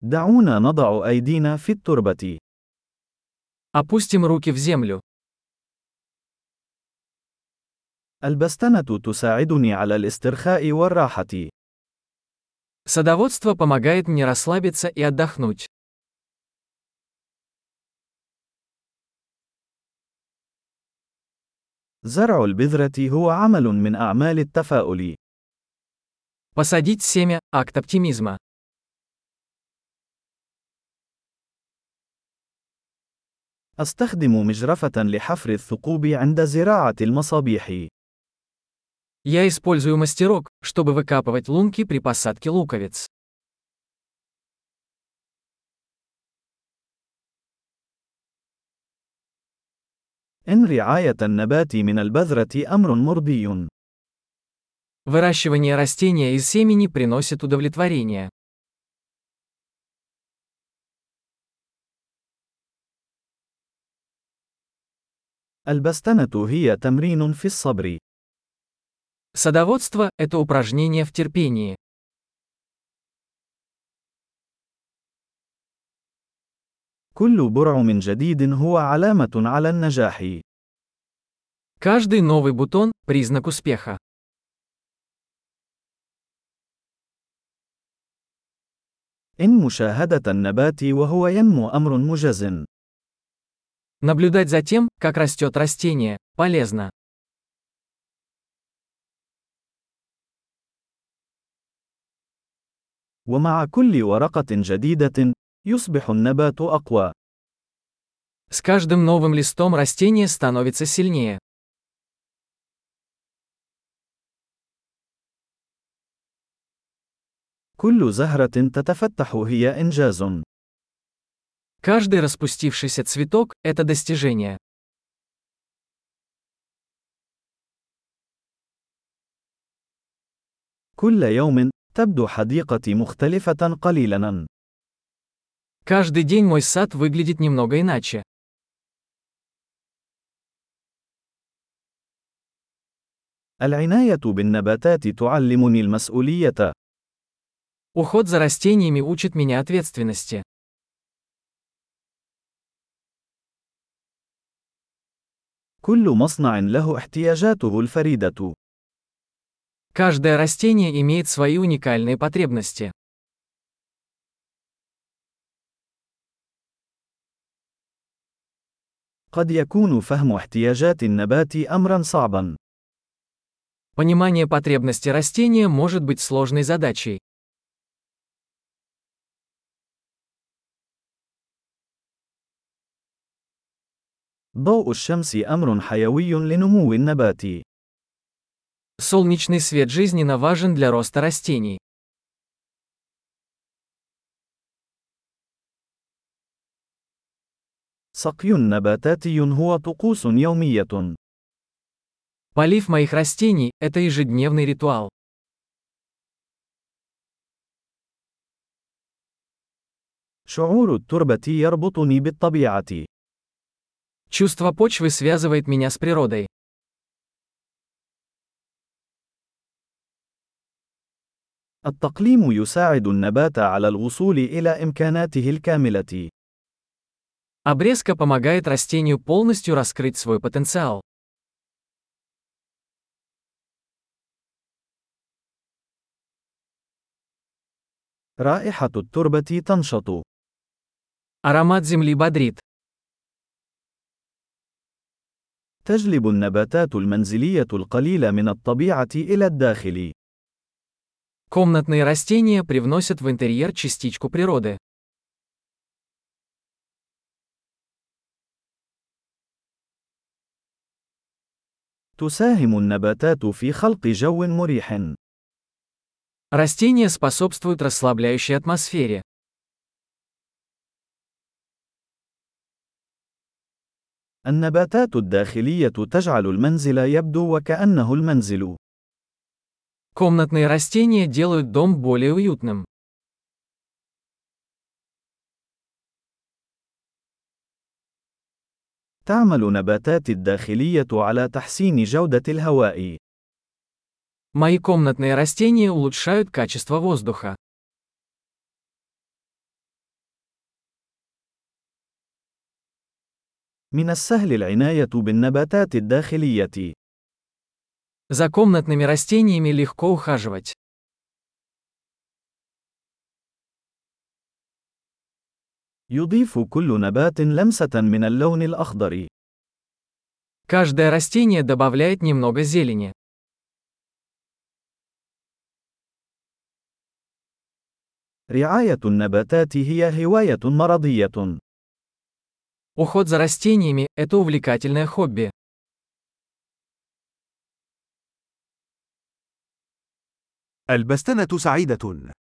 دعونا نضع أيدينا في التربة. Опустим руки в землю. البستنة تساعدني على الاسترخاء والراحة. Садоводство помогает мне расслабиться и отдохнуть. زرع البذرة هو عمل من أعمال التفاؤل. Посадить семя– акт оптимизма. أستخدم مجرفة لحفر الثقوب عند زراعة المصابيح. Я использую мастерок, чтобы выкапывать лунки при посадке луковиц. إن رعاية النبات من البذرة أمر مرضي. Выращивание растения из семени приносит удовлетворение. البستنة هي تمرين في الصبر. Садоводство– это упражнение в терпении. كل برعم جديد هو علامة على النجاح. Каждый новый бутон– признак успеха. إن مشاهدة النبات وهو ينمو أمر مجز. Наблюдать за тем, как растет растение, полезно. ومع كل ورقة جديدة، يصبح النبات أقوى. С каждым новым листом растение становится сильнее. كل زهرة تتفتح هي إنجاز. Каждый распустившийся цветок– это достижение. كل يوم تبدو حديقتي مختلفة قليلاً. Каждый день мой сад выглядит немного иначе. العناية بالنباتات تعلمني المسؤولية. Уход за растениями учит меня ответственности. كل مصنع له احتياجاته الفريدة. Каждое растение имеет свои уникальные потребности. قد يكون فهم احتياجات النبات أمرا صعبا. Понимание потребностей растения может быть сложной задачей. ضوء الشمس أمر حيوي لنمو النبات. Солнечный свет жизненно важен для роста растений. سقي نباتاتي هو طقوس يومية. Полив моих растений– это ежедневный ритуал. شعور التربة يربطني بالطبيعة. Чувство почвы связывает меня с природой. التقليم يساعد النبات على الوصول إلى إمكاناته الكاملة. Обрезка помогает растению полностью раскрыть свой потенциал. رائحة التربة تنشط. Аромат земли бодрит. تجلب النباتات المنزلية القليلة من الطبيعة إلى الداخل. Комнатные растения привносят в интерьер частичку природы. تساهم النباتات في خلق جو مريح. Растения способствуют расслабляющей атмосфере. النباتات الداخلية تجعل المنزل يبدو وكأنه المنزل. Комнатные растения делают дом более уютным. تعمل نباتات الداخلية على تحسين جودة الهواء. Мои комнатные растения улучшают качество воздуха. من السهل العناية بالنباتات الداخلية. За комнатными растениями легко ухаживать. يضيف كل نبات لمسة من اللون الأخضر. Каждое растение добавляет немного зелени. رعاية النباتات هي هواية مرضية. Уход за растениями– это увлекательное хобби. البستنة سعيدة.